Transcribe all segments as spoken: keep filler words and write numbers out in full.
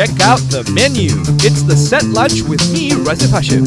check out the menu. It's the Set Lunch with me, Razif Hashim.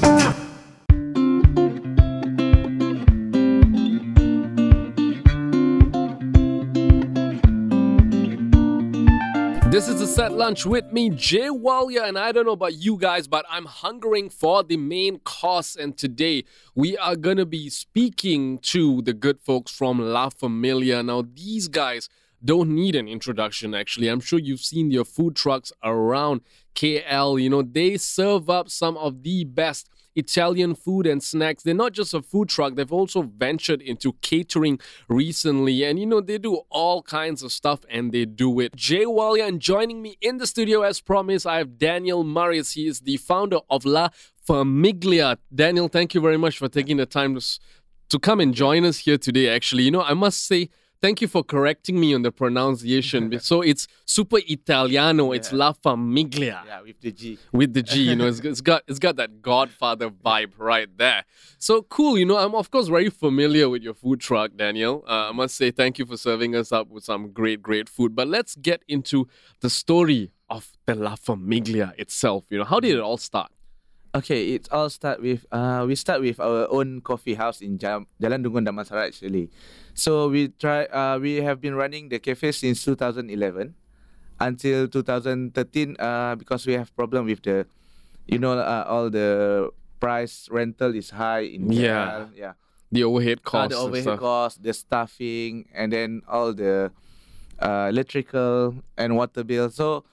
This is the Set Lunch with me, Jay Walia, and I don't know about you guys, but I'm hungering for the main course. And today we are going to be speaking to the good folks from La Familia. Now, these guys don't need an introduction, actually. I'm sure you've seen their food trucks around K L. You know, they serve up some of the best Italian food and snacks. They're not just a food truck, they've also ventured into catering recently. And you know, they do all kinds of stuff and they do it. Jay Walia, and joining me in the studio as promised, I have Daniel Marius. He is the founder of La Famiglia. Daniel, thank you very much for taking the time to, to come and join us here today, actually. You know, I must say, thank you for correcting me on the pronunciation. So it's super Italiano. It's Yeah. La Famiglia. Yeah, with the G. With the G, you know, it's, it's got it's got that Godfather vibe right there. So cool, you know. I'm of course very familiar with your food truck, Daniel. Uh, I must say thank you for serving us up with some great, great food. But let's get into the story of the La Famiglia itself. You know, how did it all start? Okay, it all start with uh we start with our own coffee house in Jam- Jalan Dungun Damansara actually. So we try uh we have been running the cafe since two thousand eleven until two thousand thirteen uh because we have problem with the you know uh, all the price rental is high in K L. Yeah. yeah. The overhead Uh, costs the and overhead stuff. cost, the staffing, and then all the uh, electrical and water bill. So,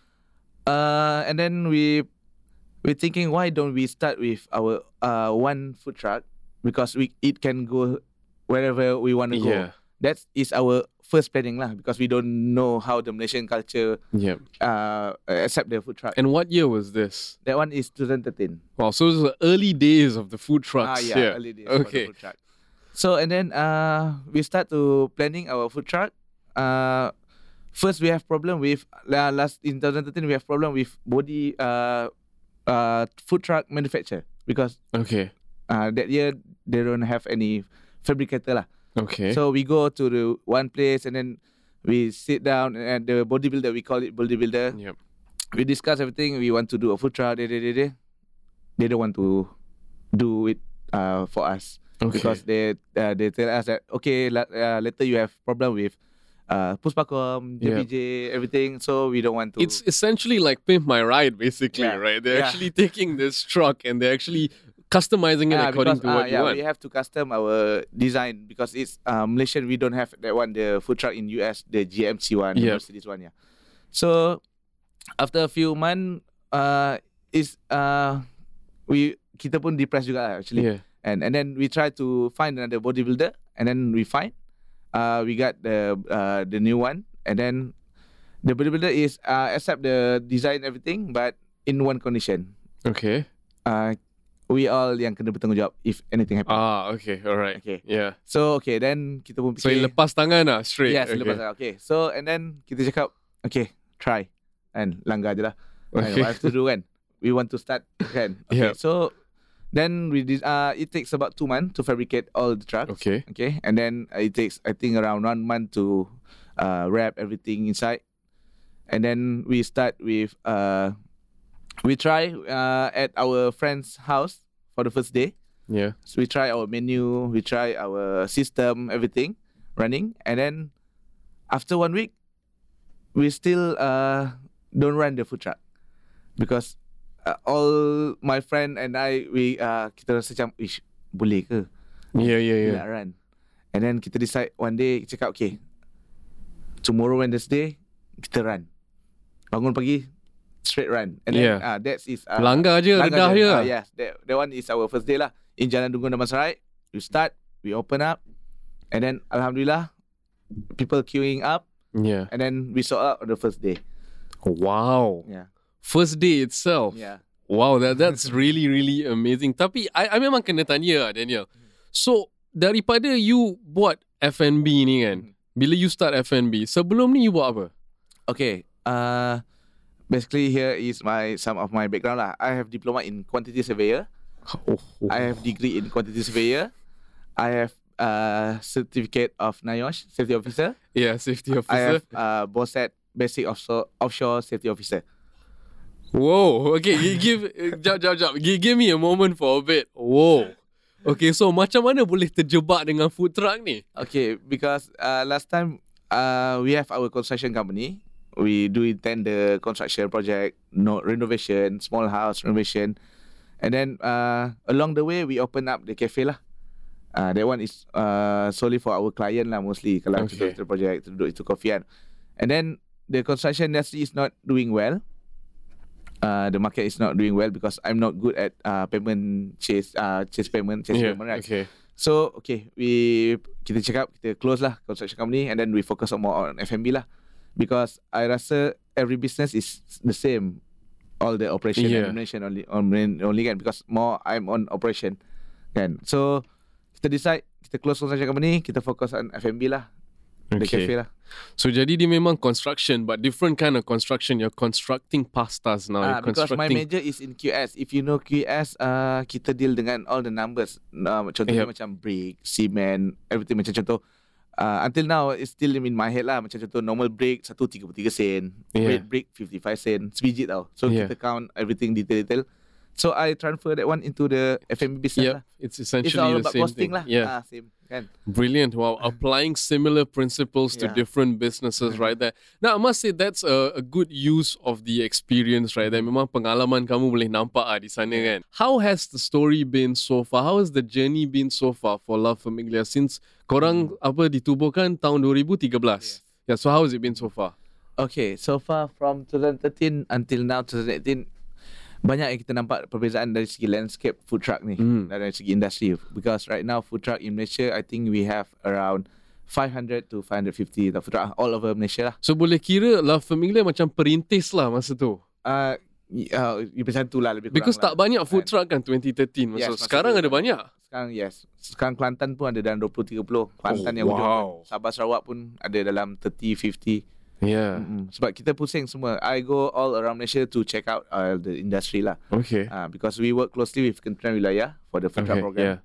uh, and then we we're thinking, why don't we start with our uh, one food truck, because we it can go wherever we want to go. Yeah. That is our first planning lah, because we don't know how the Malaysian culture Yeah. uh, accept the food truck. And what year was this? That one is twenty thirteen. Wow, so it was the early days of the food Ah, trucks yeah, here. early days for the Okay. food truck. So and then uh we start to planning our food truck. Uh first we have problem with uh, last in twenty thirteen we have problem with body uh uh food truck manufacturer, because Okay. uh that year they don't have any fabricator lah. Okay. So we go to the one place and then we sit down and the bodybuilder, we call it bodybuilder. Yep. We discuss everything. We want to do a food truck. They, they, they, they. they don't want to do it uh, for us. Okay. Because they uh, they tell us that, okay, la- uh, later you have problem with uh, Puspakom, J P J, everything. So we don't want to. It's essentially like Pimp My Ride, basically, Yeah. right? They're Yeah. actually taking this truck and they're actually customizing it Ah, according because, to ah, what you yeah, want. we have to custom our design, because it's uh, Malaysian. We don't have that one, the food truck in U S, the G M C one, the Yeah. Mercedes one, yeah. So after a few months, uh, is uh, we kita pun depressed juga lah, actually. Yeah. And and then we try to find another bodybuilder, and then we find, uh, we got the uh, the new one, and then the bodybuilder is uh, accept the design everything, but in one condition, Okay. uh, we all yang kena bertanggungjawab if anything happen. Ah, okay. All right. Okay. Yeah. So okay, then kita pun So, fikir. you lepas tangan lah, straight. Yes, okay. lepas tangan. Okay, so and then kita cakap, okay, try, and langgar je lah. And Okay. what have to do kan? We want to start kan? Okay, Yeah. so then we did. Uh, it takes about two months to fabricate all the trucks. Okay. Okay, and then uh, it takes I think around one month to uh, wrap everything inside, and then we start with uh, we try uh, at our friend's house for the first day. Yeah. So we try our menu, we try our system, everything running, and then after one week, we still uh, don't run the food truck, because uh, all my friend and I, we uh, kita rasa macam, ish, boleh ke? Yeah, yeah, Kita yeah. nak run. And then kita decide one day, cakap, okay, tomorrow Wednesday, kita run. Bangun pagi, straight run. And then Yeah. uh, that is uh, Langgar je, Langgar redah je. je. Ah, yes, that, that one is our first day lah. In Jalan Dungun Damansara, we start, we open up, and then Alhamdulillah, people queuing up, Yeah. and then we sold out on the first day. Wow. Yeah, First day itself. yeah. Wow, that that's really, really amazing. Tapi, I, I memang kena tanya lah, Daniel. So, daripada you buat F and B ni kan, bila you start F and B, sebelum ni you buat apa? Okay, uh, basically here is my some of my background lah. I have diploma in quantity surveyor. Oh, I have degree in quantity surveyor. I have uh, certificate of N I O S, safety officer. yeah, safety I officer. have uh, BOSET, basic offshore, offshore safety officer. Whoa. Okay, you give jap jap jap. Give, give me a moment for a bit. Whoa. Okay, so macam mana boleh terjebak dengan food truck ni? Okay, because uh, last time uh, we have our construction company. We do intend the construction project, no renovation, small house renovation, and then uh, along the way we open up the cafe lah. Uh, that one is uh, solely for our client lah mostly. Kalau Okay. kita project to do itu coffee kan. And then the construction industry is not doing well. Uh, the market is not doing well because I'm not good at uh, payment chase uh, chase payment chase Yeah. payment right. Okay. So okay, we kita cakap kita close lah construction company and then we focus on more on F and B lah, because I rasa every business is the same, all the operation Yeah. and administration only on only kan, because more I'm on operation kan. So kita decide kita close construction company, kita focus on F and B lah, the Okay. cafe lah. So jadi dia memang construction, but different kind of construction. You're constructing pastas now. Ah, You're because my constructing. major is in Q S. If you know Q S, uh, kita deal dengan all the numbers. Uh, contohnya Yep. macam brick, cement, everything. Macam contoh, uh, until now it's still in my head lah. Macam contoh normal brick satu tiga puluh tiga sen, Yeah. red brick fifty-five sen, sebiji tau. So Yeah. kita count everything detail-detail. So I transfer that one into the F and B business Yep. lah. It's It's essentially all the about same costing thing. lah. Yeah. Ah, same kan. Brilliant. Wow. Applying similar principles to Yeah. different businesses right there. Now, I must say that's a, a good use of the experience right there. Memang pengalaman kamu boleh nampak ah di sana kan. How has the story been so far? How has the journey been so far for La Familia since korang apa ditubuhkan tahun dua ribu tiga belas? Yeah, so how has it been so far? Okay, so far from twenty thirteen until now twenty eighteen, banyak yang kita nampak perbezaan dari segi landscape food truck ni, Hmm. dari segi industri. Because right now food truck in Malaysia, I think we have around five hundred to five hundred fifty the food truck all over Malaysia lah. So boleh kira La Familia macam perintis lah masa tu. Uh, uh, macam tu lah lebih kurang Because lah. tak banyak food Kan. truck kan twenty thirteen. Yes, So masa sekarang tu ada kan. banyak. Sekarang yes. Sekarang Kelantan pun ada dalam twenty tiga puluh. Kelantan Oh, yang ujung. wow. Sabah Sarawak pun ada dalam thirty fifty. Yeah. Mm-mm. Sebab kita pusing semua. I go all around Malaysia to check out uh, the industry lah. Okay. Uh, because we work closely with Kementerian Wilayah for the food truck Okay, program. yeah.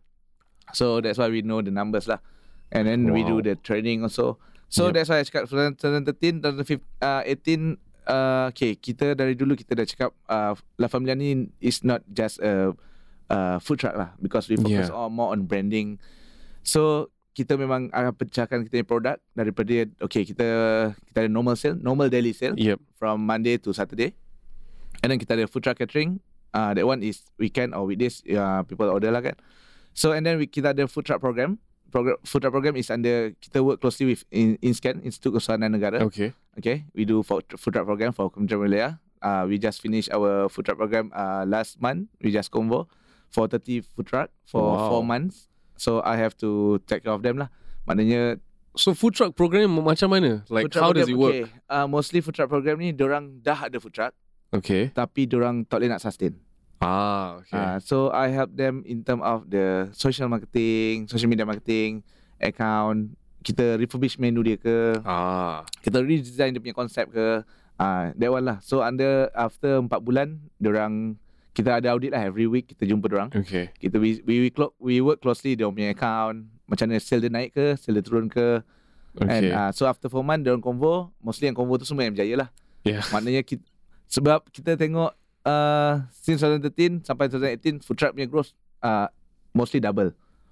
So that's why we know the numbers lah. And then we do Wow. the training also. So Yep. that's why I cakap twenty thirteen, twenty eighteen, uh, okay, kita dari dulu kita dah cakap uh, La Familia ni is not just a uh, food truck lah, because we focus Yeah. on more on branding. So kita memang akan pecahkan kita punya produk daripada okay, kita kita ada normal sale, normal daily sale Yep. from Monday to Saturday. And then kita ada food truck catering. Uh, that one is weekend or weekdays, uh, people order lah kan. So and then we, kita ada food truck program. Program food truck program is under, kita work closely with in, INSCAN, Institut Kesusahan Negara. Okay. Okay, we do for, food truck program for Kementerian Wilayah. Uh, we just finished our food truck program uh, last month. We just convo for thirty food truck for Wow. four months. So I have to take care of them lah. Maknanya So food truck program macam mana? Like food truck how does it program, work? Okay, uh, mostly food truck program ni dorang dah ada food truck, Okay. tapi dorang tak boleh nak sustain. Ah, okay. Uh, so I help them in term of the social marketing, social media marketing, account. Kita refurbish menu dia ke, ah. kita redesign dia punya konsep ke. Ah, uh, that one lah. So under after empat bulan, dorang kita ada audit lah every week, kita jumpa dorang. Okay. Kita we we we, clo- we work closely dia punya account, macam mana sale dia naik ke, sale dia turun ke. And Okay. uh, so after four months dorang convo, mostly yang convo tu semua yang berjaya lah. Yeah. Maknanya kita, sebab kita tengok uh, since twenty thirteen sampai twenty eighteen food truck punya growth uh, mostly double.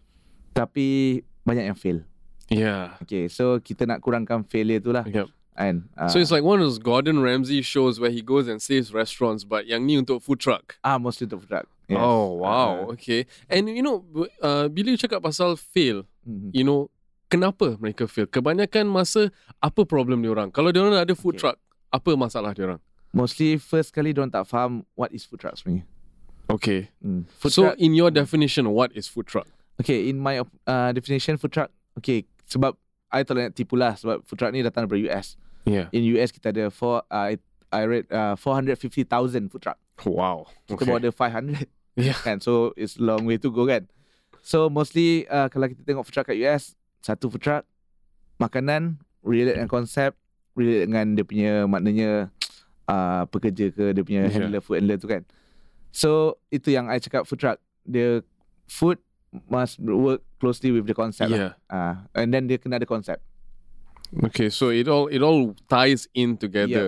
Tapi banyak yang fail. Yeah. Okay, so kita nak kurangkan failure tu lah. Yep. And uh, So it's like one of those Gordon Ramsay shows where he goes and saves restaurants, but yang ni untuk food truck. ah mostly untuk food truck. Yes. Oh wow, Uh, okay. And you know, uh, bila you cakap pasal fail, mhm. you know, kenapa mereka fail? Kebanyakan masa apa problem diorang? Kalau diorang ada food Okay. truck, apa masalah diorang? Mostly first kali diorang tak faham what is food truck sebenarnya. Okay. Hmm. Food So truck, in your definition, what is food truck? okay, in my uh, definition food truck, okay, sebab I tak nak tipu lah, sebab food truck ni datang dari U S. Yeah. In U S kita ada four, uh, I, I read uh, four hundred fifty thousand food truck. Wow. Kita baru ada five hundred. Yeah. Kan, so it's long way to go kan. So mostly uh, kalau kita tengok food truck kat U S, satu food truck, makanan, relate dengan konsep, relate dengan dia punya maknanya uh, pekerja ke, dia punya Yeah. handler, food handler tu kan. So itu yang I cakap food truck. The food must work closely with the concept Yeah. lah. Uh, and then dia kena ada konsep. Okay, so it all it all ties in together.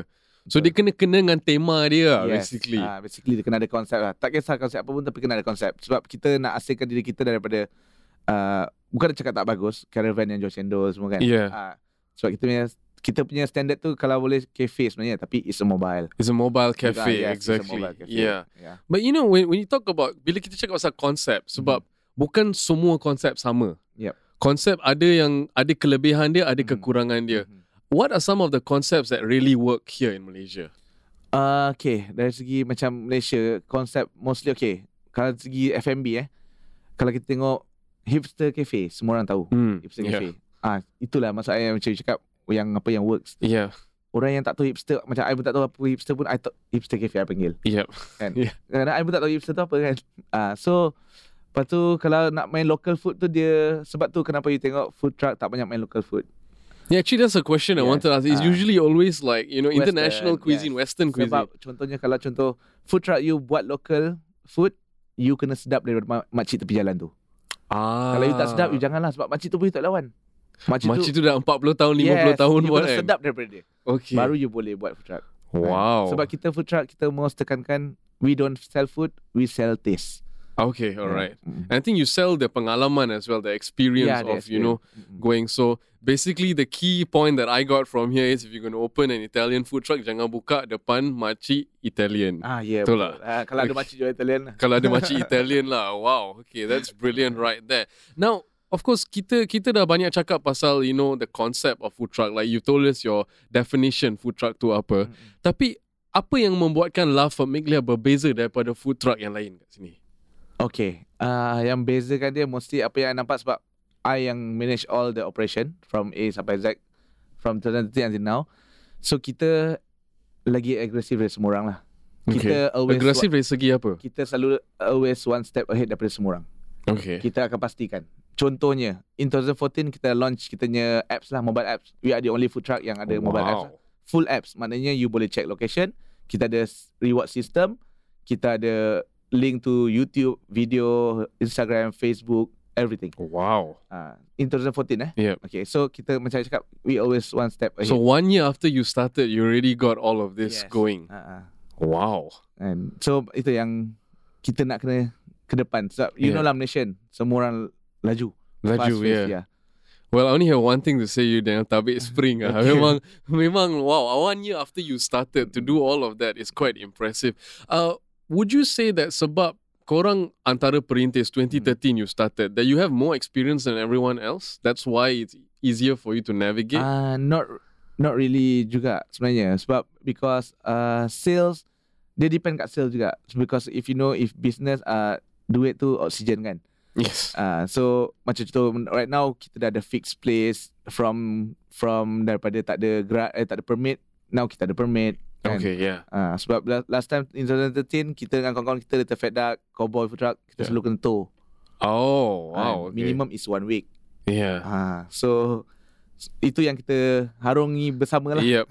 So dia kena-kena dengan tema dia lah, Yes. basically. Ah, basically dia kena ada konsep lah. Tak kisah konsep apa pun tapi kena ada konsep. Sebab kita nak asingkan diri kita daripada uh, bukan cakap tak bagus, caravan yang jual cendol semua kan. Yeah. Ah, sebab kita punya kita punya standard tu kalau boleh cafe sebenarnya tapi it's a mobile. It's a mobile cafe, Ah, yes, it's a exactly. mobile cafe. Yeah. Yeah. But you know, when when you talk about, bila kita cakap pasal konsep, sebab bukan semua konsep sama. Yep. Konsep ada yang ada kelebihan dia, ada Mhm. kekurangan dia. Mhm. What are some of the concepts that really work here in Malaysia? Uh, okay, dari segi macam Malaysia, konsep mostly okay. Kalau dari segi F and B eh, kalau kita tengok hipster cafe, semua orang tahu Hmm. hipster Yeah. cafe. Ah, itulah maksud saya macam you cakap yang apa yang works. Yeah. Orang yang tak tahu hipster, macam I pun tak tahu apa hipster pun, I tahu hipster cafe I panggil. Yep. Kan? Yeah. Kadang-kadang I pun tak tahu hipster tu apa kan. Ah, so lepas tu kalau nak main local food tu dia, sebab tu kenapa you tengok food truck tak banyak main local food. Yeah, actually that's a question I Yes. wanted to ask. It's Ah. usually always like, you know, Western, international cuisine, yes. Western cuisine. Sebab contohnya kalau contoh food truck you buat local food, you kena sedap daripada ma- makcik tepi jalan tu. Ah. Kalau you tak sedap, you janganlah sebab makcik tu pun you tak lawan. Makcik, Makcik tu dah empat puluh tahun, lima puluh yes, tahun you buat kena kan. sedap daripada dia. Okay. Baru you boleh buat food truck. Wow. Sebab kita food truck, kita most tekankan we don't sell food, we sell taste. Okay, alright. Mm. And I think you sell the pengalaman as well, the experience Yeah, of, the you know, experience. Mm-mm. going. So basically the key point that I got from here is if you're going to open an Italian food truck, jangan buka depan makcik Italian. Ah, ya, yeah, Betul betul. lah. Ah, kalau ada Okay. makcik jual Italian lah. Kalau ada makcik Italian lah. Wow. Okay, that's brilliant right there. Now, of course, kita kita dah banyak cakap pasal, you know, the concept of food truck. Like you told us your definition food truck tu apa. Mm-mm. Tapi apa yang membuatkan La Famiglia berbeza daripada food truck yang lain kat sini? Okay, uh, yang bezakan dia mesti apa yang I nampak sebab I yang manage all the operation from A sampai Z from twenty thirteen until now. So kita lagi agresif dari semua orang lah. Kita always Agresif dari segi apa? kita selalu always one step ahead daripada semua orang. Okay. Kita akan pastikan. Contohnya, in twenty fourteen kita launch kita punya apps lah, mobile apps. We are the only food truck yang ada mobile apps. Lah. Full apps, maknanya you boleh check location. Kita ada reward system. Kita ada link to YouTube, video, Instagram, Facebook, everything. Wow. Uh, in twenty fourteen eh. Yep. Okay, so kita macam cakap, we always one step ahead. So one year after you started, you already got all of this Yes. going. Uh, uh. Wow. And so itu yang kita nak kena ke depan. Sebab you Yeah. know lah Malaysian, semua orang laju. Laju, Fast pace, yeah. yeah. Well, I only have one thing to say you dengan tabik spring. ah. Okay. Memang, memang wow. One year after you started to do all of that is quite impressive. Uh, would you say that sebab korang antara perintis twenty thirteen you started, that you have more experience than everyone else? That's why it's easier for you to navigate? Uh, not not really juga sebenarnya. Sebab because uh, sales, dia depend kat sales juga. Because if you know, if business, uh, duit tu oxygen kan. yes. Uh, so macam contoh right now kita dah ada fixed place from from daripada tak ada gerak, eh, tak ada permit, now kita ada permit. Kan? Okay, yeah. Uh, sebab la- last time in twenty thirteen kita dengan kawan-kawan kita Little Fat Duck, Cowboy Food Truck, kita Yeah. selalu kena tow. Oh, wow. Uh, Okay. minimum is one week. Yeah. Uh, so itu yang kita harungi bersama lah. Yep.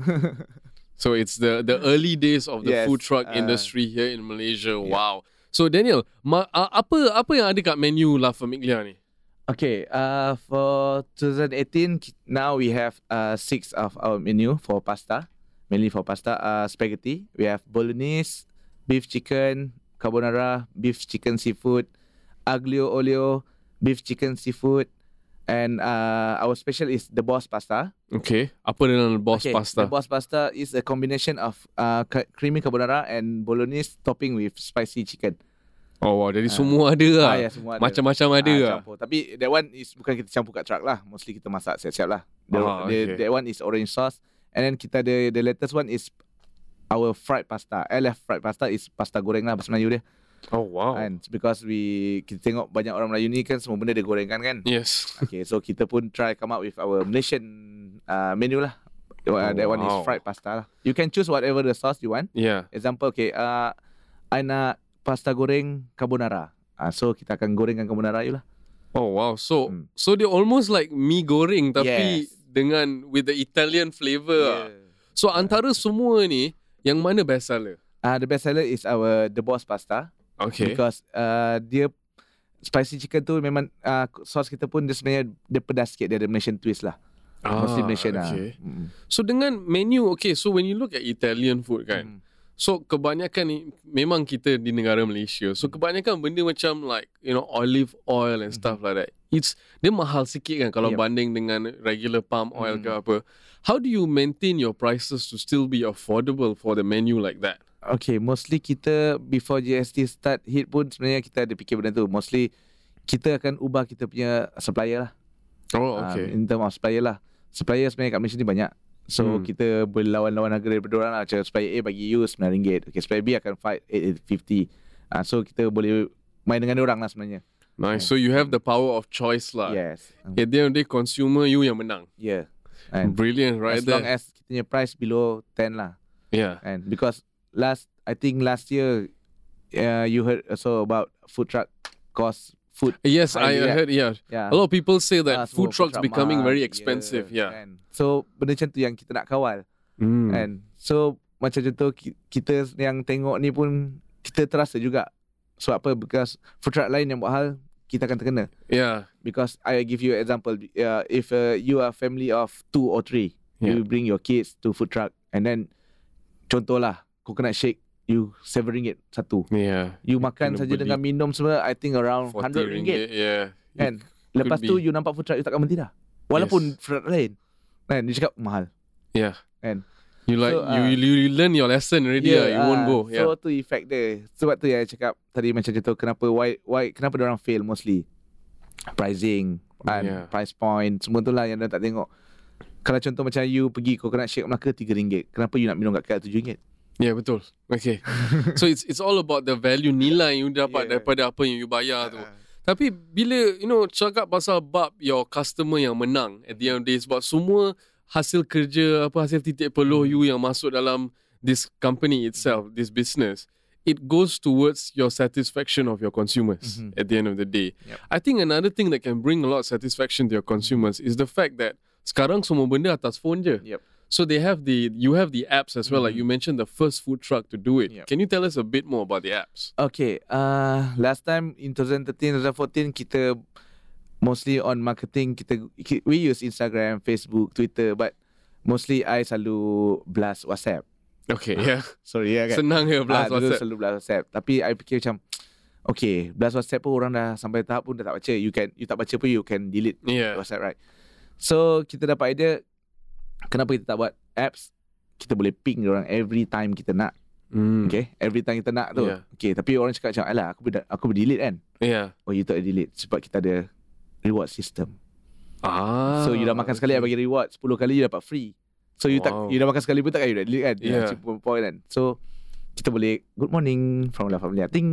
So it's the the early days of the Yes, food truck uh, industry here in Malaysia. yeah. Wow. So Daniel, ma, uh, apa apa yang ada kat menu La Famiglia ni? Okay, uh, for twenty eighteen, ki- now we have uh, six of our menu for pasta, mainly for pasta. Uh, spaghetti, we have bolognese, beef chicken, carbonara, beef chicken seafood, aglio olio, beef chicken seafood, and uh, our special is the boss pasta. Okay. Apa dengan boss okay, pasta? The boss pasta is a combination of uh, ca- creamy carbonara and bolognese topping with spicy chicken. Oh wow, jadi semua ada lah. Ah, ya, semua ada. Macam-macam ada Ah, lah. campur. Tapi that one is bukan kita campur kat truck lah. Mostly kita masak siap-siap lah. The, Ah, the, okay. That one is orange sauce. And then kita ada the latest one is our fried pasta. L F fried pasta is pasta goreng lah bahasa Melayu dia. Oh wow. And because we kita tengok banyak orang Melayu ni kan semua benda dia gorengkan kan. Yes. Okay, so kita pun try come up with our Malaysian uh, menu lah. Uh, Oh, that one is wow. fried pasta lah. You can choose whatever the sauce you want. Yeah. Example, okay, uh, I nak pasta goreng carbonara. Uh, so kita akan gorengkan carbonara you lah. Oh wow. So Hmm. so dia almost like mie goreng tapi Yes. dengan with the Italian flavour. lah. So antara semua ni, yang mana best seller? Uh, the best seller is our the boss pasta. Okay. Because uh, dia spicy chicken tu memang uh, sauce kita pun dia sebenarnya dia pedas sikit, dia ada Malaysian twist lah. Mostly Malaysian lah. okay. Mm. So dengan menu, okay, so when you look at Italian food kan, Mm. so kebanyakan ni memang kita di negara Malaysia. So kebanyakan benda macam like, you know, olive oil and stuff like that. It's dia mahal sikit kan kalau Yep. banding dengan regular palm oil ke Mm. apa. How do you maintain your prices to still be affordable for the menu like that? Okay, mostly kita before G S T start hit pun sebenarnya kita ada fikir benda tu. Mostly kita akan ubah kita punya supplier lah. Oh, Ah, okay. in term of supplier lah. Supplier sebenarnya kat Malaysia ni banyak. So Hmm. kita berlawan-lawan harga daripada orang lah. Macam supplier A bagi you sembilan ringgit. Okay, supplier B akan fight eight fifty. Ah, so kita boleh main dengan orang lah sebenarnya. Nice. So you have the power of choice lah. Yes. At the end of the day, consumer you yang menang. Yeah. And Brilliant, right as there. long as kita punya price below ten lah. Yeah. And because last, I think last year, uh, you heard also about food truck cost food. Yes, I highly, yeah. heard. Yeah. Yeah. A lot of people say that Ah, food semua trucks truck becoming mahal. very expensive. Yeah. Kan. So benda macam tu yang kita nak kawal. Mm. Kan. So macam contoh ki- kita yang tengok ni pun kita terasa juga. Sebab apa? Because food truck lain yang buat hal, kita akan terkena. Yeah. Because I give you an example. Uh, if uh, you are a family of two or three, Yeah. you bring your kids to food truck and then contohlah coconut shake, you seven ringgit satu. Yeah. You makan kena saja beli dengan minum semua, I think around forty hundred ringgit. Yeah. Kan? It Lepas could tu be. you nampak food truck, you takkan berhenti dah. Walaupun Yes. food truck lain. Kan? Dia cakap mahal. Yeah. Kan? You like So, you, ah. you you learn your lesson already. Yeah, you won't ah, go. So Yeah. tu effect dia. Sebab tu yang I cakap tadi macam contoh kenapa why why kenapa dia orang fail mostly. Pricing and Yeah. price point semua tu lah yang dia tak tengok. Kalau contoh macam you pergi coconut shake Melaka tiga ringgit. Kenapa you nak minum kat K L tujuh ringgit? Yeah, betul. Okay. So it's it's all about the value nilai you dapat Yeah. daripada apa yang you bayar tu. Tapi bila you know cakap pasal bab your customer yang menang at the end of the day, sebab semua hasil kerja apa hasil titik peluh you yang masuk dalam this company itself, this business, it goes towards your satisfaction of your consumers Mhm. at the end of the day. Yep. I think another thing that can bring a lot of satisfaction to your consumers is the fact that sekarang semua benda atas phone je. Yep. So they have the you have the apps as well. Like you mentioned, the first food truck to do it. Yep. Can you tell us a bit more about the apps? Okay, uh, last time in twenty thirteen, twenty fourteen kita mostly on marketing. Kita we use Instagram, Facebook, Twitter, but mostly I selalu blast WhatsApp. Okay, yeah. Sorry ya kan. Senang ya blast Ah, dulu WhatsApp. selalu blast WhatsApp. Tapi I fikir macam, okay, blast WhatsApp pun orang dah sampai tahap pun dah tak baca. You can, you tak baca pun you can delete Yeah. WhatsApp, right? So kita dapat idea, kenapa kita tak buat apps? Kita boleh ping orang every time kita nak. Mm. Okay, every time kita nak tu. Yeah. Okay, tapi orang cakap macam, alah aku ber, aku ber-delete kan. Yeah. Oh, you tak delete sebab kita ada reward system. Ah. So you dah makan sekali, I bagi reward, sepuluh kali you dapat free. So you Wow. tak you dah makan sekali pun takkan you dah delete kan. Yeah. Cheap point kan. So kita boleh good morning from La Familia. Ting.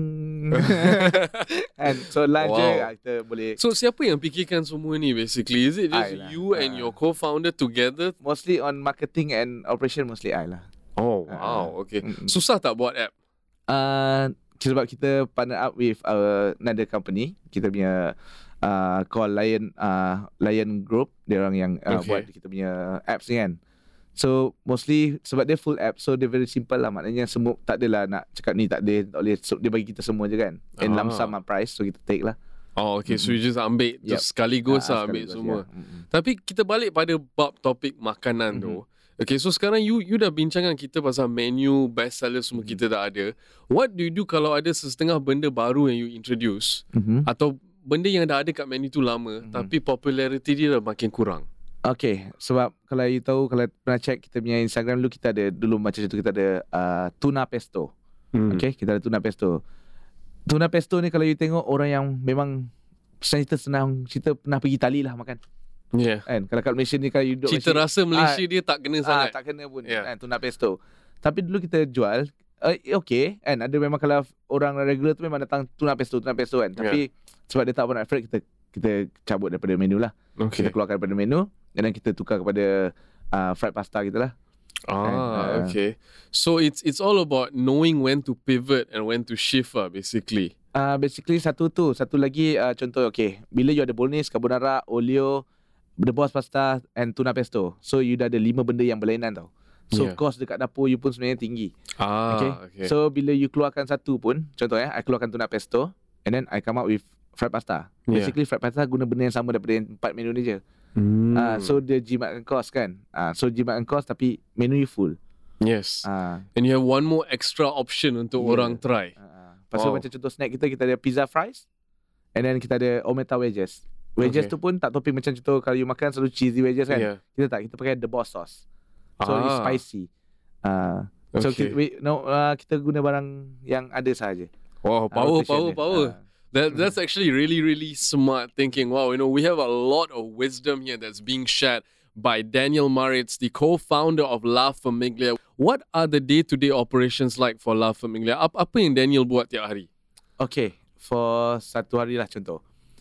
And so lunch je Wow. kita boleh So siapa yang fikirkan semua ni basically? Is it just I lah. you and Ah. your co-founder together? mostly on marketing and operation mostly I lah. Oh, Ah. wow. Okay. Mm-mm. Susah tak buat app? Uh, sebab kita partner up with our another company. Kita punya uh, call Lion uh, Lion Group. Dia orang yang uh, Okay. buat kita punya apps ni kan. So mostly sebab dia full app, so dia very simple lah. Maknanya semua tak adalah nak cakap ni tak boleh, tak boleh. So, dia bagi kita semua je kan. And Ah. lump sum lah price, so kita take lah. Oh, okay. So you just ambil Yep. just sekaligus Ah, lah ambil sekaligus, semua. ya. Mm-mm. Tapi kita balik pada bab topik makanan tu. Okay, so sekarang you you dah bincangkan kita pasal menu, best seller semua kita dah ada. What do you do kalau ada setengah benda baru yang you introduce Mhm. atau benda yang dah ada kat menu tu lama tapi popularity dia dah makin kurang? Okay, sebab kalau you tahu, kalau pernah check kita punya Instagram dulu, kita ada, dulu macam tu kita ada uh, tuna pesto. Hmm. Okay, kita ada tuna pesto. Tuna pesto ni kalau you tengok orang yang memang cerita senang, cerita pernah pergi Itali lah makan. Yeah. Kan? Kalau kat Malaysia ni kalau you duduk Cita Malaysia, rasa Malaysia ah, dia tak kena ah, sangat. tak kena pun Yeah. kan, tuna pesto. Tapi dulu kita jual, uh, okay kan, ada memang kalau orang regular tu memang datang tuna pesto, tuna pesto kan. Tapi sebab dia tak pernah effort, kita kita cabut daripada menu lah. Okay. Kita keluarkan daripada menu dan then kita tukar kepada uh, fried pasta kita lah. Ah, uh, okay. So it's it's all about knowing when to pivot and when to shift lah, basically. Uh, basically satu tu, satu lagi uh, contoh, okay, bila you ada bolognese, carbonara, olio, the boss pasta and tuna pesto. So you dah ada lima benda yang berlainan tau. So Yeah. cost dekat dapur you pun sebenarnya tinggi. Ah, Okay. okay. So bila you keluarkan satu pun, contoh ya, I keluarkan tuna pesto and then I come up with fried pasta. Yeah. Basically fried pasta guna benda yang sama daripada yang empat menu ni je. Mm. Uh, so dia jimatkan kos kan. Uh, so jimatkan kos tapi menu you full. Yes. Uh, And you have one more extra option untuk Yeah. orang try. uh, Lepas tu Wow. macam contoh snack kita, kita ada pizza fries. And then kita ada ometa wedges. Wedges Okay. tu pun tak topping macam contoh kalau you makan selalu cheesy wedges kan. Yeah. Kita tak, kita pakai the boss sauce. So it's Ah. spicy. Uh, so Okay. kita, we, no, uh, kita guna barang yang ada sahaja. Wow, Uh, power, rotation power, dia. power. Uh, That that's actually really, really smart thinking. Wow, you know, we have a lot of wisdom here that's being shared by Daniel Maritz, the co-founder of La Famiglia. What are the day-to-day operations like for La Famiglia? Apa, apa yang Daniel buat tiap hari? Okay, for satu hari lah contoh.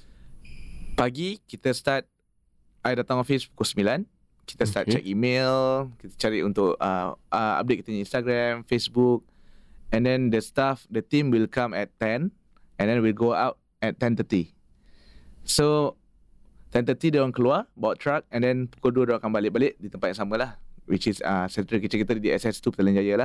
Pagi kita start, I datang office pukul sembilan. Kita start Okay. check email, kita cari untuk uh, uh, update kita punya Instagram, Facebook. And then the staff, the team will come at ten. And then we'll go out at ten thirty. So ten thirty dia orang keluar bawa truck, and then pukul dua dia orang akan balik-balik di tempat yang sama lah, which is uh, central kitchen kita di S S two Petaling Jaya lah.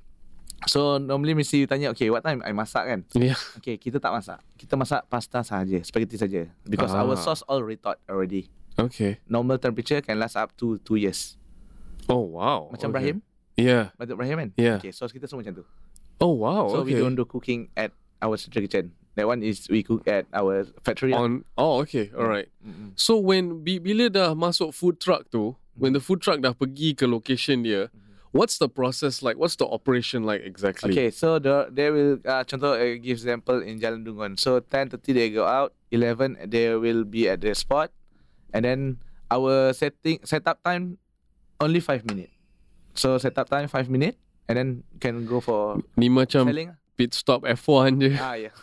So normally mesti you tanya, okay, what time I masak kan? Yeah. Okay, kita tak masak. Kita masak pasta sahaja, spaghetti saja. Because Ah. our sauce already thawed already. Okay. Normal temperature can last up to two years. Oh, wow. Macam okay. Ibrahim, Yeah. Batuk Ibrahim kan? Yeah. Okay, sauce kita semua macam tu. Oh, wow. So okay. we don't do cooking at our central kitchen. That one is we cook at our factory. lah. On. Oh, okay. All right. Mm-mm. So when bi- bila dah masuk food truck tu, when the food truck dah pergi ke location dia, what's the process like? What's the operation like exactly? Okay, so the, they will, uh, contoh, uh, give example in Jalan Dungun. So ten thirty they go out, eleven they will be at the spot. And then our setting setup time, only five minutes. So setup time five minutes. And then can go for Ni macam selling. pit stop F one je. Ah, yeah.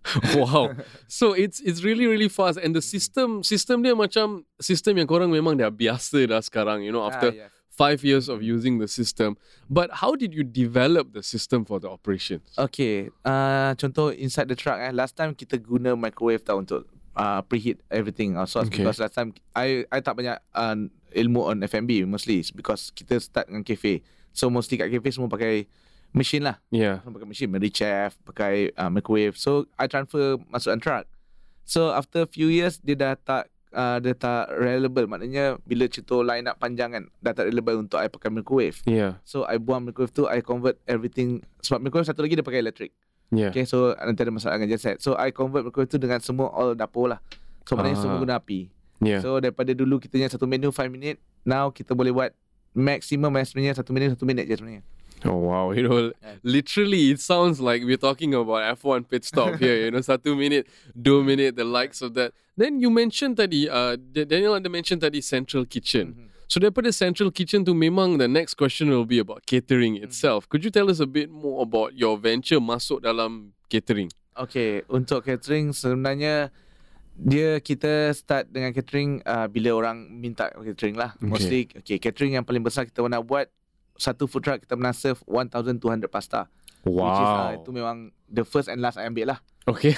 Wow. So it's it's really really fast, and the system system dia macam sistem yang korang memang dah biasa dah sekarang, you know, after Ah, yeah. five years of using the system. But how did you develop the system for the operations? Okay, uh, contoh inside the truck eh, last time kita guna microwave tau untuk uh, preheat everything our sauce. Okay. Because last time I I tak banyak uh, ilmu on F and B mostly because kita start dengan cafe. So mostly kat cafe semua pakai machine lah. Yeah. Semua pakai machine, Mary Chef, pakai uh, microwave. So I transfer masukkan truck. So after few years dia dah tak uh, dia tak reliable. Maknanya bila contoh line up panjang kan, dah tak reliable untuk I pakai microwave. Yeah. So I buang microwave tu, I convert everything. Sebab microwave satu lagi dia pakai elektrik. Yeah. Okay, so nanti ada masalah dengan genset. So I convert microwave tu dengan semua all dapur lah. So maknanya Ah. semua guna api. Yeah. So daripada dulu kita punya satu menu five minit, now kita boleh buat maximum eh, sebenarnya satu minit satu minit je sebenarnya. Oh wow, you know, literally it sounds like we're talking about F one pit stop here, you know, satu minute, dua minute, the likes of that. Then you mentioned tadi, uh, D- Daniel ada mentioned tadi central kitchen. Mhm. So daripada central kitchen tu memang the next question will be about catering itself. Could you tell us a bit more about your venture masuk dalam catering? Okay, untuk catering sebenarnya dia kita start dengan catering uh, bila orang minta catering lah. Okay. Mostly okay, catering yang paling besar kita nak buat satu food truck kita pernah serve one thousand two hundred pasta. Which is uh, itu memang the first and last I ambil lah. Okay.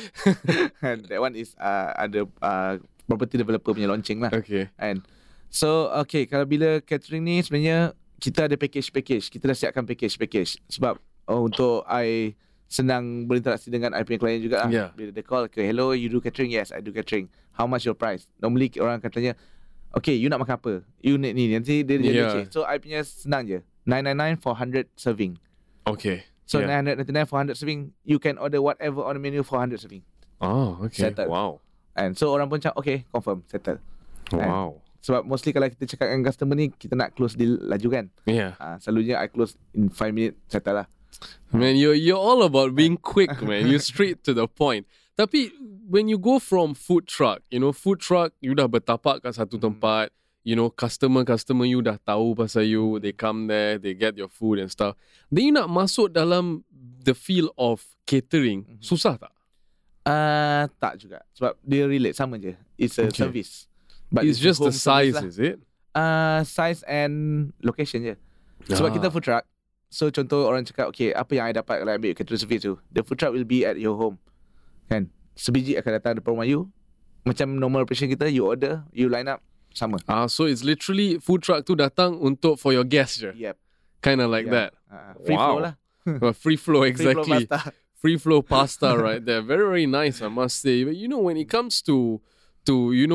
That one is uh, ada uh, property developer punya launching lah. Okay. And so okay, kalau bila catering ni sebenarnya kita ada package-package. Kita dah siapkan package-package. Sebab oh, untuk I senang berinteraksi dengan I punya klien juga lah. Yeah. Bila dia call, okay, hello, you do catering? Yes, I do catering. How much your price? Normally orang akan tanya, okay, you nak makan apa? You need ni. Nanti dia dia Yeah. yeah. So I punya senang je. nine ninety-nine for one hundred serving. Okay. So Yeah. nine ninety-nine for one hundred serving, you can order whatever on the menu for one hundred serving. Oh, okay. Settled. Wow. And so orang pun cakap, okay, confirm, settle. Wow. Sebab mostly kalau kita cakap dengan customer ni, kita nak close deal laju kan. Yeah. Uh, selalunya I close in five minutes, settle lah. Man, you're you're all about being quick, man. You're straight to the point. Tapi when you go from food truck, you know, food truck, you dah bertapak kat satu tempat, you know, customer-customer you dah tahu pasal you, they come there, they get your food and stuff. Then you nak masuk dalam the field of catering, susah tak? Uh, tak juga. Sebab dia relate, sama je. It's a Okay. service. But It's just the home service size, lah. is it? Uh, size and location je. Sebab Ah. kita food truck. So contoh orang cakap, okay, apa yang I dapat kalau I ambil catering service tu? The food truck will be at your home. Kan? Sebiji akan datang depan rumah you. Macam normal operation kita, you order, you line up, sama. Ah, so it's literally food truck tu datang untuk for your guests je. Yep. Kind of like Yeah. that. Uh, free Wow. flow lah. Well, free flow, exactly. Free flow pasta. Free flow pasta right there. Very, very nice, I must say. But you know, when it comes to to, you know,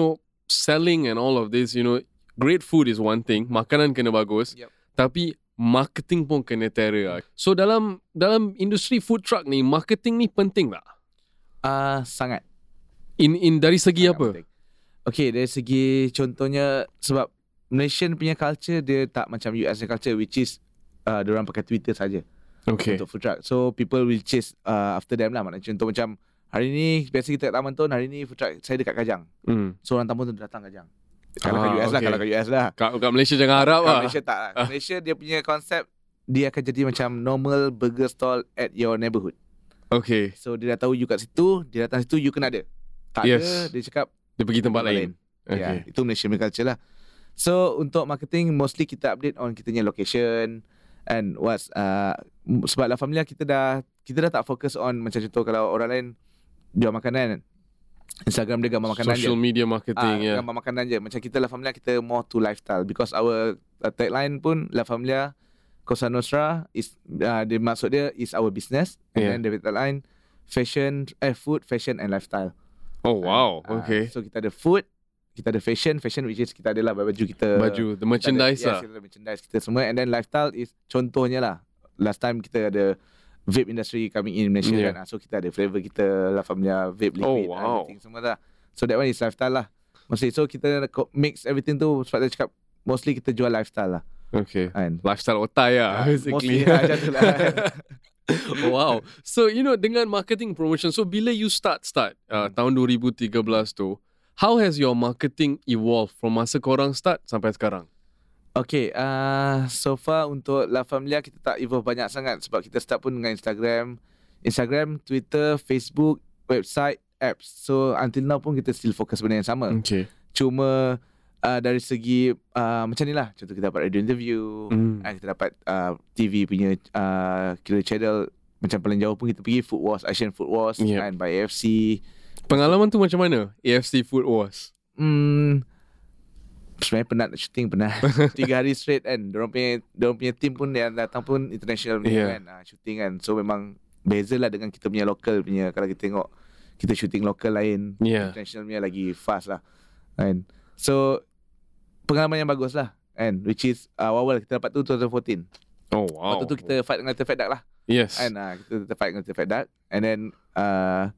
selling and all of this, you know, great food is one thing, makanan kena bagus, Yep. tapi marketing pun kena terror. So dalam dalam industri food truck ni, marketing ni penting tak? Ah, sangat. In in dari segi sangat apa? penting. Okay, dari segi contohnya sebab Malaysian punya culture dia tak macam U S culture, which is uh, diorang pakai Twitter saja Okay. untuk food truck. So people will chase uh, after them lah. Maknanya contoh macam hari ni biasa kita kat Taman Tun, hari ni food truck saya dekat Kajang. Hmm. So orang Taman Tun datang Kajang. Kalau Ah, kat U S lah, okay. kalau kat U S lah. Kat, kat Malaysia jangan harap Kat lah. Malaysia tak lah. Malaysia dia punya konsep dia akan jadi macam normal burger stall at your neighborhood. Okay. So dia dah tahu you kat situ, dia datang situ you kena ada. Tak Yes. ada, dia cakap Dia pergi tempat lain. Okay. Ya, Okay. itu Malaysia punya culture lah. So untuk marketing mostly kita update on kita punya location and what's uh, sebab La Familia kita dah kita dah tak fokus on macam contoh kalau orang lain jual makanan, Instagram dia gambar makanan Social je. media marketing, Ah, yeah. gambar makanan je. Macam kita La Familia kita more to lifestyle because our uh, tagline pun La Familia Cosa Nostra is uh, dia maksud dia is our business and Yeah. then the tagline fashion eh food, fashion and lifestyle. Oh wow, Ah, okay. So kita ada food, kita ada fashion, fashion which is kita ada lah baju kita. Baju, the kita merchandise ada, lah. Yes, kita ada merchandise kita semua and then lifestyle is contohnya lah. Last time kita ada vape industry coming in Malaysia Yeah. kan. Ah, So kita ada flavor kita La Familia vape liquid Oh, wow. everything semua lah. So that one is lifestyle lah. Mostly so kita co- mix everything tu sebab dia cakap mostly kita jual lifestyle lah. Okay. Kan. Lifestyle otai lah, Ah, basically. mostly lah macam tu lah. Wow. So, you know, dengan marketing promotion, so bila you start, start uh, tahun dua ribu tiga belas tu, how has your marketing evolved from masa korang start sampai sekarang? Okay, uh, so far untuk La Familia kita tak evolve banyak sangat sebab kita start pun dengan Instagram, Instagram, Twitter, Facebook, website, apps. So until now pun kita still fokus benda yang sama. Okay. Cuma uh, dari segi uh, macam ni lah, contoh kita dapat radio interview, Mm. uh, kita dapat uh, T V punya uh, kira channel macam paling jauh pun kita pergi Food Wars, Asian Food Wars Yep. and by A F C. Pengalaman tu macam mana? A F C Food Wars. Hmm, sebenarnya penat nak shooting pernah tiga hari straight kan. Diorang punya diorang punya team pun yang datang pun international punya Yeah. kan, ah, shooting kan. So memang beza lah dengan kita punya local punya. Kalau kita tengok kita shooting local lain, Yeah. international punya lagi fast lah kan. So pengalaman yang bagus lah kan, which is uh, awal kita dapat tu twenty fourteen. Oh wow. Waktu tu kita fight dengan Fed Duck lah Yes. kan. Ah, kita fight dengan Fed Duck and then uh,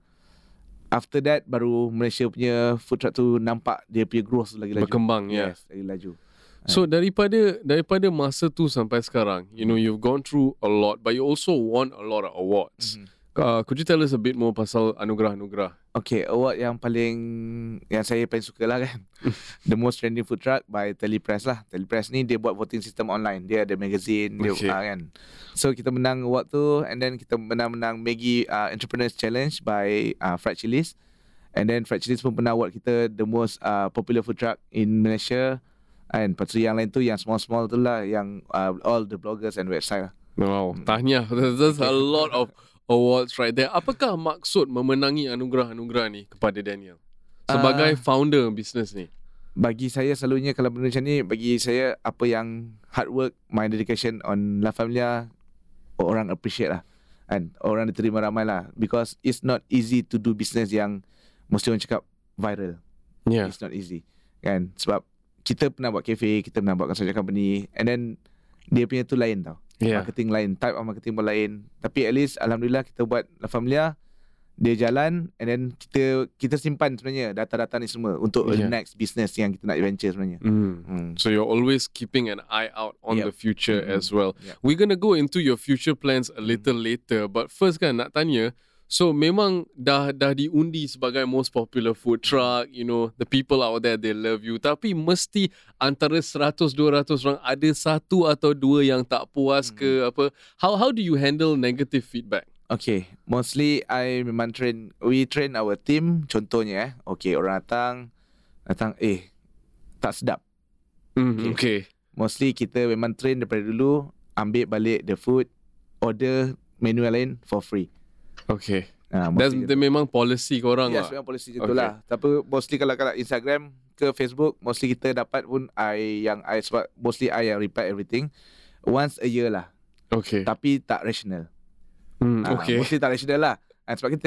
after that baru Malaysia punya food truck tu nampak dia punya growth lagi laju. Berkembang, yeah. Yes, lagi laju. So daripada daripada masa tu sampai sekarang, you know, you've gone through a lot, but you also won a lot of awards. Mhm. Uh, could you tell us a bit more pasal anugerah-anugerah? Okay, award yang paling yang saya paling suka lah kan. The most trending food truck by Telepress lah. Telepress ni dia buat voting system online. Dia ada magazine, dia Okay. uh, kan. So kita menang award tu and then kita menang-menang Maggie uh, Entrepreneurs Challenge by uh, Fried Chili's. And then Fried Chili's pun pernah award kita the most uh, popular food truck in Malaysia. And lepas tu yang lain tu yang small-small tu lah yang uh, all the bloggers and website lah. Wow, tahniah. There's a lot of awards right there. Apakah maksud memenangi anugerah-anugerah ni kepada Daniel sebagai Uh, founder bisnes ni? Bagi saya selalunya kalau benda macam ni, bagi saya apa yang hard work, my dedication on La Familia, orang appreciate lah kan, orang diterima ramai lah, because it's not easy to do business yang mesti orang cakap viral. Yeah. It's not easy kan, sebab kita pernah buat cafe, kita pernah buat construction company and then dia punya tu lain tau. Yeah. Marketing lain, type of marketing pun lain. Tapi at least alhamdulillah kita buat La Familia, dia jalan and then kita kita simpan sebenarnya data-data ni semua untuk Yeah. the next business yang kita nak venture sebenarnya. Mm. Hmm. So you're always keeping an eye out on Yep. the future Mhm. as well. Yep. We're gonna go into your future plans a little later, but first kan nak tanya, so memang dah dah diundi sebagai most popular food truck, you know, the people out there they love you, tapi mesti antara seratus dua ratus orang ada satu atau dua yang tak puas ke apa. How how do you handle negative feedback? Okay, mostly I memang train, we train our team, contohnya eh, okay orang datang, datang eh tak sedap. Mm, okay. Mostly kita memang train daripada dulu, ambil balik the food, order menu yang lain for free. Okay. Ha, That's mostly the memang policy korang yes, lah. memang polisi macam tu Okay. lah. Tapi mostly kalau kat Instagram ke Facebook, mostly kita dapat pun I yang I sebab mostly I yang reply everything once a year lah. Okay. Tapi tak rational. Mm, Ah, okay. Mostly tak rational lah. And sebab kita tengok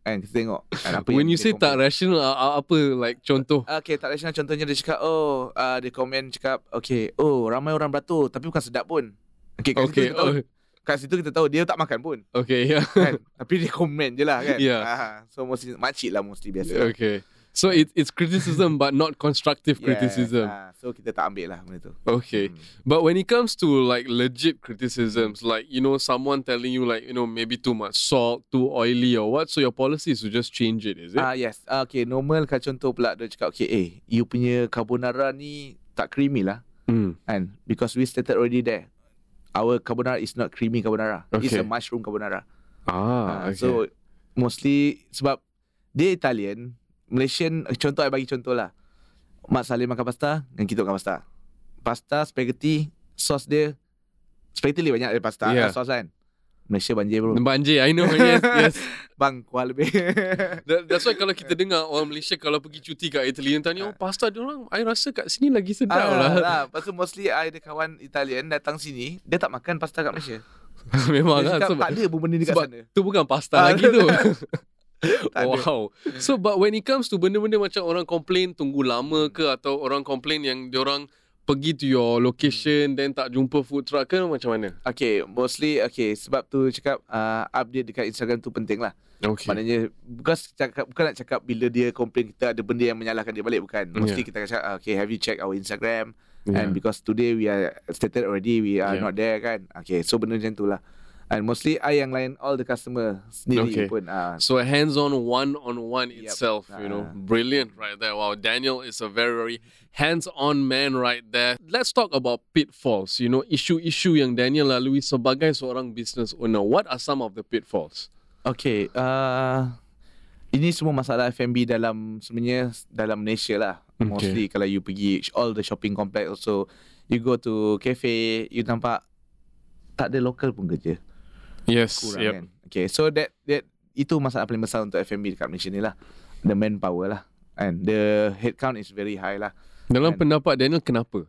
Kan kita tengok kan, apa When yang you dia say tak komen. rational, uh, apa like contoh? Okay, tak rasional. Contohnya dia cakap, oh, uh, dia komen cakap, okay, oh, ramai orang beratur tapi bukan sedap pun. Okay, kat Okay, situ kita tahu, oh, kat situ kita tahu dia tak makan pun. okay, yeah. Kan? Tapi dia komen je lah kan. Yeah. Ah, so mesti makcik lah mesti biasa. Okay. So it, it's criticism but not constructive Yes, criticism. ah, so kita tak ambil lah benda tu. Okay. Hmm. But when it comes to like legit criticisms, like, you know, someone telling you like, you know, maybe too much salt, too oily or what, so your policy is to just change it, is it? Ah yes. Ah, okay, normal kan contoh pula dia cakap, okay, eh, you punya carbonara ni tak creamy lah. Mm. And because we stated already there, our carbonara is not creamy carbonara. It's Okay. a mushroom carbonara. Ah, Ah, okay. So mostly sebab dia Italian, Malaysian, contoh I bagi contoh lah. Mak Salim makan pasta dan kita makan pasta. Pasta, spaghetti, sos dia spaghetti lebih banyak dari pasta, Yeah. yeah. sos kan. Malaysia banjir bro. Banjir, I know. Yes, yes. Bang, kuah lebih. That, that's why kalau kita dengar orang Malaysia kalau pergi cuti kat Italy, yang tanya, oh pasta diorang, I rasa kat sini lagi sedap Ah, lah. lah. Lepas tu mostly I ada kawan Italian datang sini, dia tak makan pasta kat Malaysia. Memang Dia lah. cakap Sebab, tak ada pun benda ni kat sebab sana. tu bukan pasta Ah, lagi tu. Tak ada. Wow. So but when it comes to benda-benda macam orang complain tunggu lama ke, atau orang complain yang diorang pergi to your location then tak jumpa food truck ke, macam mana? Okay, mostly okay, sebab tu cakap uh, update dekat Instagram tu penting lah. Okay. Maknanya bukan cakap, bukan nak cakap bila dia komplain kita ada benda yang menyalahkan dia balik, bukan. Mostly Yeah. kita akan cakap, okay, have you checked our Instagram? Yeah. And because today we are stated already we are Yeah. not there kan. Okay, so benda macam tu lah. And mostly I yang lain all the customer sendiri Okay. pun. Uh, So hands-on, one-on-one Yep. itself, you know, Ah. brilliant right there. Wow, Daniel is a very, very hands-on man right there. Let's talk about pitfalls, you know, isu-isu yang Daniel lalui sebagai seorang business owner. What are some of the pitfalls? okay, uh, ini semua masalah F and B dalam sebenarnya dalam Malaysia lah. Okay. Mostly kalau you pergi all the shopping complex also, you go to cafe, you nampak tak ada local pun kerja. Yes, Kurang yep. kan. Okay, so that that itu masalah paling besar untuk F and B dekat Malaysia ni lah. The manpower lah. And the headcount is very high lah. Dalam And- pendapat Daniel, kenapa?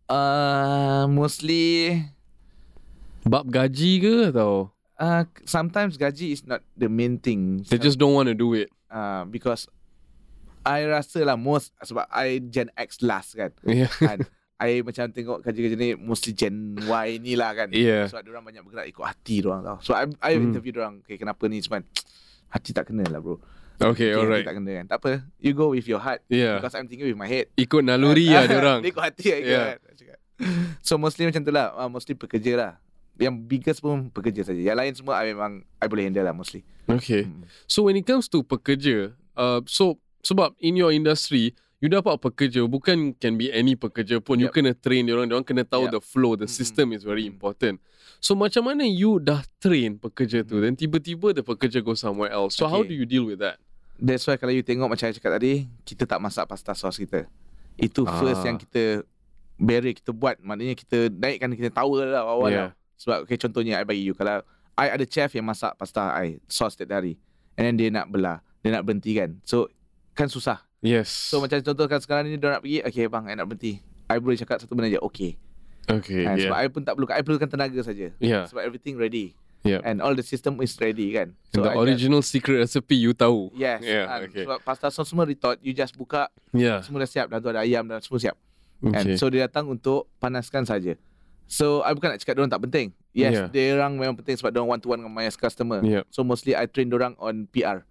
Uh, mostly Bab gaji ke atau uh, sometimes gaji is not the main thing. they just don't want to do it? uh, because I rasa lah most sebab I Gen X last kan. Yeah. kan I macam tengok kerja-kerja ni mostly Gen Y ni lah kan. Yeah. Sebab diorang banyak bergerak ikut hati diorang tau. So I, I Hmm. interview diorang, okay, kenapa ni cuman hati tak kena lah bro. Okay, Okay, alright. hati tak kena kan. Tak apa, you go with your heart. Yeah. Because I'm thinking with my head. Ikut naluri lah diorang. Dia ikut hati lah Yeah. kan. Cakap. So mostly macam tu lah. Uh, mostly pekerja lah. Yang biggest pun pekerja saja. Yang lain semua I memang I boleh handle lah mostly. Okay. Hmm. So when it comes to pekerja, uh, so sebab in your industry, you dapat pekerja, bukan can be any pekerja pun. You Yep. kena train diorang, diorang kena tahu Yep. the flow, the Mm-mm. system is very Mm. important. So macam mana you dah train pekerja tu, then tiba-tiba the pekerja go somewhere else. So how Okay. do you deal with that? That's why kalau you tengok macam saya cakap tadi, kita tak masak pasta sos kita. Itu Ah. first yang kita barrier kita buat. Maknanya kita naikkan kita tahu lah awal Yeah. lah. Sebab okay, contohnya I bagi you, kalau I ada chef yang masak pasta I sos setiap hari, and then dia nak belah, dia nak berhenti kan. So kan susah. Yes. So macam contoh kan sekarang ni dia nak pergi, okay bang, I nak berhenti. I boleh cakap satu benda je, okay. okay, And sebab yeah. I pun tak perlukan, I perlukan tenaga saja. Yeah. Sebab everything ready. Yeah. And all the system is ready kan. And the I just- original secret recipe you tahu. Yes. Yeah, and okay. Sebab pasta sos semua retort, you just buka, Yeah. semua dah siap. Dan tu ada ayam dan semua siap. Okay. And so dia datang untuk panaskan saja. So I bukan nak cakap diorang tak penting. Yes, Yeah. yeah. diorang memang penting sebab diorang one to one dengan my customer. Yeah. So mostly I train diorang on P R.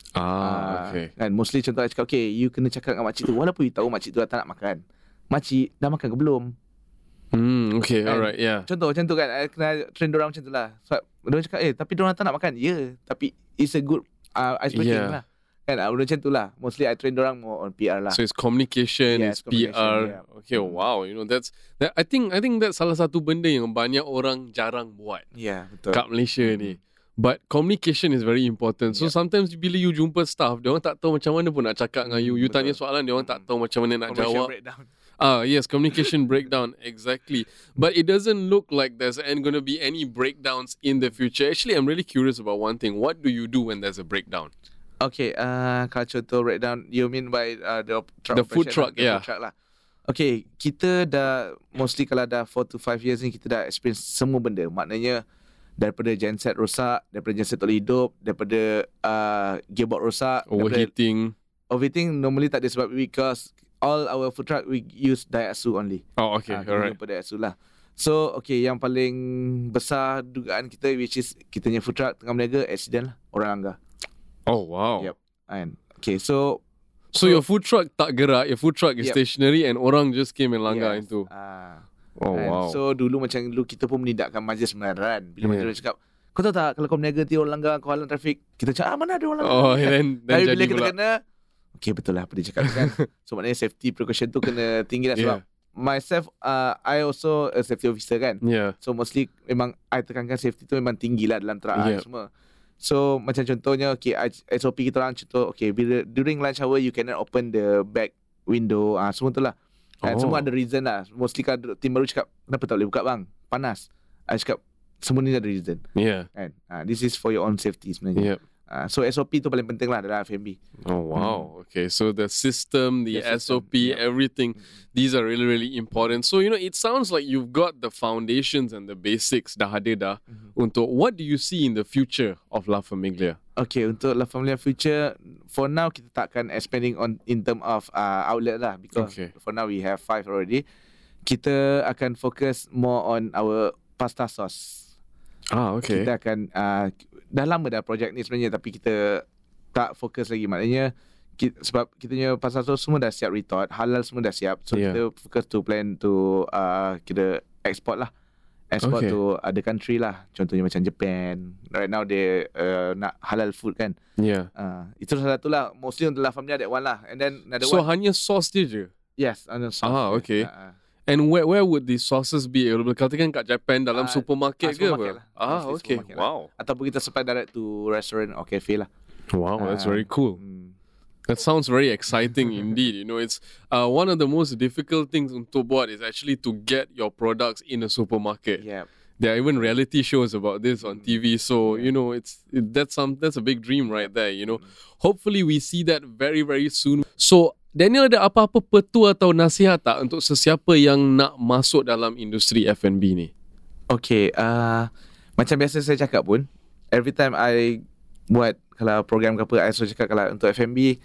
Ah, okay. Kan mostly contoh I cakap, okay, you kena cakap dengan makcik tu, walaupun you tahu makcik tu dah tak nak makan. Makcik dah makan ke belum? Hmm, okay, Kan? alright, yeah. Contoh macam tu kan, I kena train diorang macam tu lah. Sebab diorang cakap, eh tapi diorang tak nak makan. Ya, yeah, tapi it's a good uh, ice breaking Yeah. lah. Kan, uh, macam tu lah. Mostly I train diorang more on P R lah. So it's communication, Yes, it's P R. communication, yeah. Okay, wow, you know that's that. I think I think that's salah satu benda yang banyak orang jarang buat Ya, yeah, betul. kat Malaysia ni. But communication is very important. So Yep. sometimes bila you jumpa staff, dia orang tak tahu macam mana pun nak cakap dengan you. You Betul. tanya soalan, dia orang tak tahu macam mana nak Commercial jawab. breakdown. Ah, yes, communication breakdown, exactly. But it doesn't look like there's going to be any breakdowns in the future. Actually, I'm really curious about one thing. What do you do when there's a breakdown? Okay, uh, kalau contoh breakdown, you mean by uh, the truck The food operation truck, lah, the yeah. food truck lah. Okay, kita dah mostly kalau dah four to five years ni kita dah experience semua benda. Maknanya daripada genset rosak, daripada genset tak boleh hidup, daripada uh, gearbox rosak, overheating. Overheating normally tak ada sebab because all our food truck we use Daihatsu only. Oh, okay, uh, alright. Kita Daihatsu lah. So, okay, yang paling besar dugaan kita which is kita punya food truck tengah berniaga, accident lah, orang langgar. Oh, wow. Yep. And okay, so So, so your food truck tak gerak, your food truck is Yep. stationary and orang just came and langgar yes. into. Ah. Oh, And wow. So dulu macam dulu kita pun menidakkan majlis kebenaran. Bila Yeah. majlis cakap, kau tahu tak kalau kau berniaga nanti orang langgar, kau halang trafik. Kita cakap, ah mana ada orang langgar. Oh, and then, then Tapi jadi bila kita pula. kena, okay betul lah apa dia cakap kan. So maknanya safety precaution tu kena tinggi lah sebab Yeah. myself, uh, I also a safety officer kan. Yeah. So mostly memang I tekankan safety tu memang tinggi lah dalam truck Yeah. I semua. So macam contohnya, okay, S O P kita orang contoh, okay, bila during lunch hour you cannot open the back window, ah semua tu lah. Dan Oh. semua ada reason lah. Mostly kan tim baru cakap, kenapa tak boleh buka bang? Panas. I cakap, semua ni ada reason. Yeah. Kan? Ah, this is for your own safety sebenarnya. Yep. Ah, so S O P tu paling penting lah dalam F and B. Oh, wow. Okay, so the system, the, The S O system, P, yep. everything, these are really, really important. So, you know, it sounds like you've got the foundations and the basics dah ada dah Mhm. untuk what do you see in the future of La Famiglia? Okay, untuk La Familia future, for now kita takkan expanding on in term of uh, outlet lah because Okay. for now we have five already. Kita akan fokus more on our pasta sauce. Ah, okay. Kita akan uh, dah lama dah projek ni sebenarnya tapi kita tak fokus lagi. Maknanya kita, sebab kita punya pasta sauce semua dah siap retort, halal semua dah siap. So Yeah. kita fokus to plan to uh, kita export lah. Export Okay. to other country lah. Contohnya macam Japan. Right now they uh, nak halal food kan. Yeah. Uh, itu salah satu lah. Mostly untuk La Familia that one lah. And then another So, one. hanya sauce dia je? Yes, on the sauce. Ah, okay. Uh, uh. And where where would these sauces be available? Katakan kat Japan dalam Ah, supermarket ah, ke supermarket apa? lah. Ah, Mostly okay. supermarket lah. Wow. Ataupun kita supply direct to restaurant or cafe lah. Wow, that's Ah, very cool. hmm. That sounds very exciting indeed. You know, it's uh, one of the most difficult things untuk buat is actually to get your products in a supermarket. Yeah. There are even reality shows about this on T V. So, you know, it's it, that's some that's a big dream right there, you know. Hopefully we see that very, very soon. So, Daniel, ada apa-apa petua atau nasihat tak untuk sesiapa yang nak masuk dalam industri F and B ni? Okay, uh, macam biasa saya cakap pun, every time I buat kalau program ke apa, I selalu cakap kalau untuk F and B,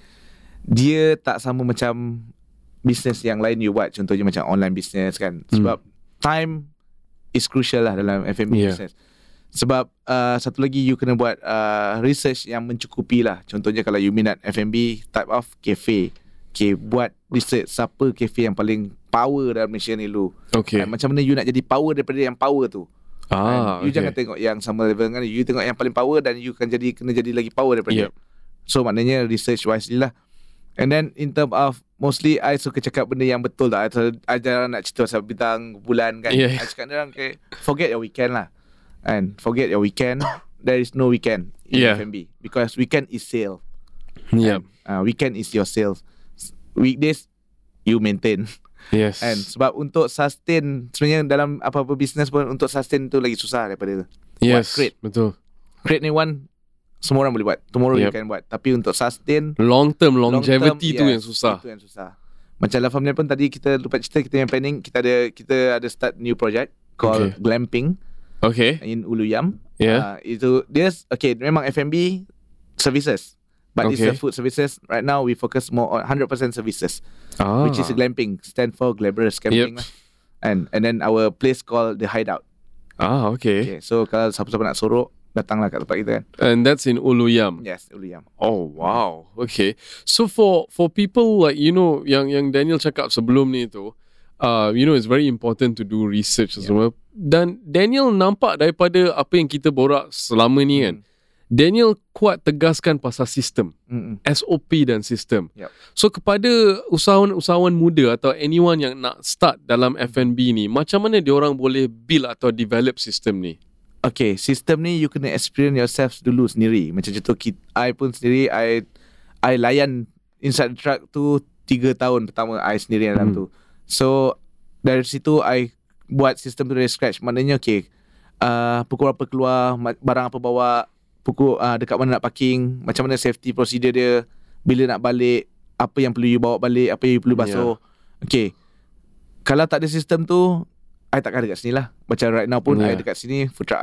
dia tak sama macam business yang lain you buat. Contohnya macam online business kan. Sebab time is crucial lah dalam F and B Yeah. business. Sebab uh, satu lagi you kena buat uh, research yang mencukupi lah. Contohnya kalau you minat F and B type of cafe, okay, buat research siapa cafe yang paling power dalam Malaysia ni lu. Okay. Uh, macam mana you nak jadi power daripada yang power tu. Ah, And you okay. jangan tengok yang sama level dengan you, tengok yang paling power dan you kan jadi kena jadi lagi power daripada Yep. dia. So maknanya research wisely lah. And then in term of mostly I suka cakap benda yang betul lah. I jarang nak cerita pasal bintang bulan kan. Yeah. I cakap dia orang okay, forget your weekend lah. And forget your weekend. There is no weekend in Yeah. F and B because weekend is sale. Yeah. Uh, weekend is your sales. Weekdays you maintain. Yes. And sebab untuk sustain sebenarnya dalam apa-apa business pun untuk sustain tu lagi susah daripada yes. crate. Betul. Create ni one semua orang boleh buat. Tomorrow Yep. you can buat. Tapi untuk sustain Long term long longevity term, tu yes, yang susah. Itu yang susah. Macam La Familia pun tadi kita lupa cerita kita yang planning, kita ada kita ada start new project called Okay. Glamping Okay. in Uluyam. Yeah. Uh, itu dia okay memang F and B services. But it's Okay. a food services. Right now we focus more on one hundred percent services. Ah. Which is glamping, stand for glamorous camping Yep. lah. And and then our place called the Hideout. Ah, okay. Okay, so kalau siapa-siapa nak sorok, datanglah kat tempat kita kan. And that's in Uluyam. Yes, Uluyam. Oh wow. Okay. So for for people like you know yang yang Daniel cakap sebelum ni tu, uh, you know it's very important to do research yeah. semua. Dan Daniel nampak daripada apa yang kita borak selama ni kan, Daniel kuat tegaskan pasal sistem. Mm-mm. S O P dan sistem. Yep. So kepada usahawan-usahawan muda atau anyone yang nak start dalam F and B ni, macam mana diorang boleh build atau develop sistem ni? Okay, sistem ni you kena experience yourself dulu sendiri. Macam contoh kita, I pun sendiri, I I layan inside the truck tu tiga tahun pertama I sendiri dalam Hmm. tu. So dari situ I buat sistem tu dari scratch. Maknanya okay, uh, pukul berapa keluar, ma- barang apa bawa, pukul uh, dekat mana nak parking, macam mana safety procedure dia, bila nak balik, apa yang perlu you bawa balik, apa yang you perlu basuh. Yeah. Okay, kalau tak ada sistem tu, I takkan dekat sini lah. Macam right now pun Yeah. I dekat sini, food truck I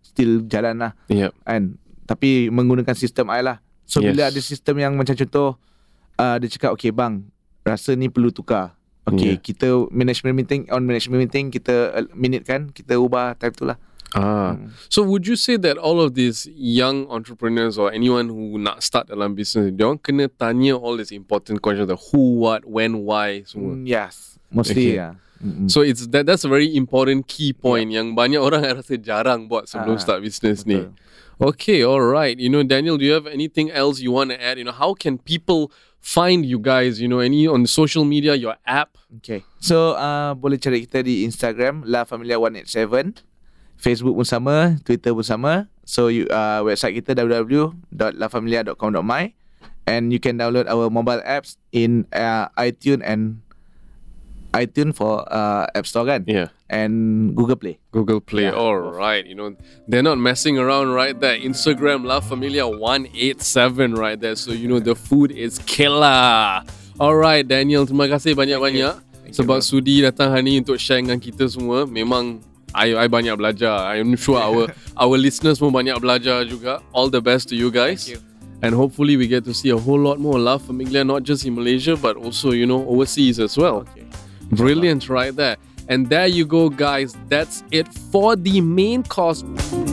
still jalan lah. Yeah. Kan? Tapi menggunakan sistem I lah. So Yes. bila ada sistem yang macam contoh uh, dia cakap okay bang, rasa ni perlu tukar. Okay, Yeah. kita management meeting, on management meeting kita uh, minute kan, kita ubah time tu lah. Ah. Hmm. So would you say that all of these young entrepreneurs or anyone who nak start dalam business, dia orang kena tanya all these important questions, the who, what, when, why semua? Mm, yes, mostly Okay. yeah. Mm-mm. So it's that that's a very important key point yang banyak orang rasa jarang buat sebelum Ah, start business ni. betul. Okay, all right. You know, Daniel, do you have anything else you want to add? You know, how can people find you guys? You know, any on social media, your app? Okay. So uh, boleh cari kita di Instagram La Familia one eight seven, Facebook pun sama, Twitter pun sama. So you uh, website kita w w w dot la familia dot com dot my, and you can download our mobile apps in uh, iTunes and iTunes for uh, App Store kan, Yeah. and Google Play. Google Play. Yeah, All both. right. You know, they're not messing around right there. Instagram La Familia one eight seven right there. So, you know, the food is killer. All right, Daniel. Terima kasih banyak-banyak Thank you, sebab bro. sudi datang hari ni untuk share dengan kita semua. Memang I, I banyak belajar. I'm sure our our listeners pun banyak belajar juga. All the best to you guys. Thank you. And hopefully we get to see a whole lot more La Familia, not just in Malaysia, but also, you know, overseas as well. Okay. Brilliant right there. And there you go, guys. That's it for the main course.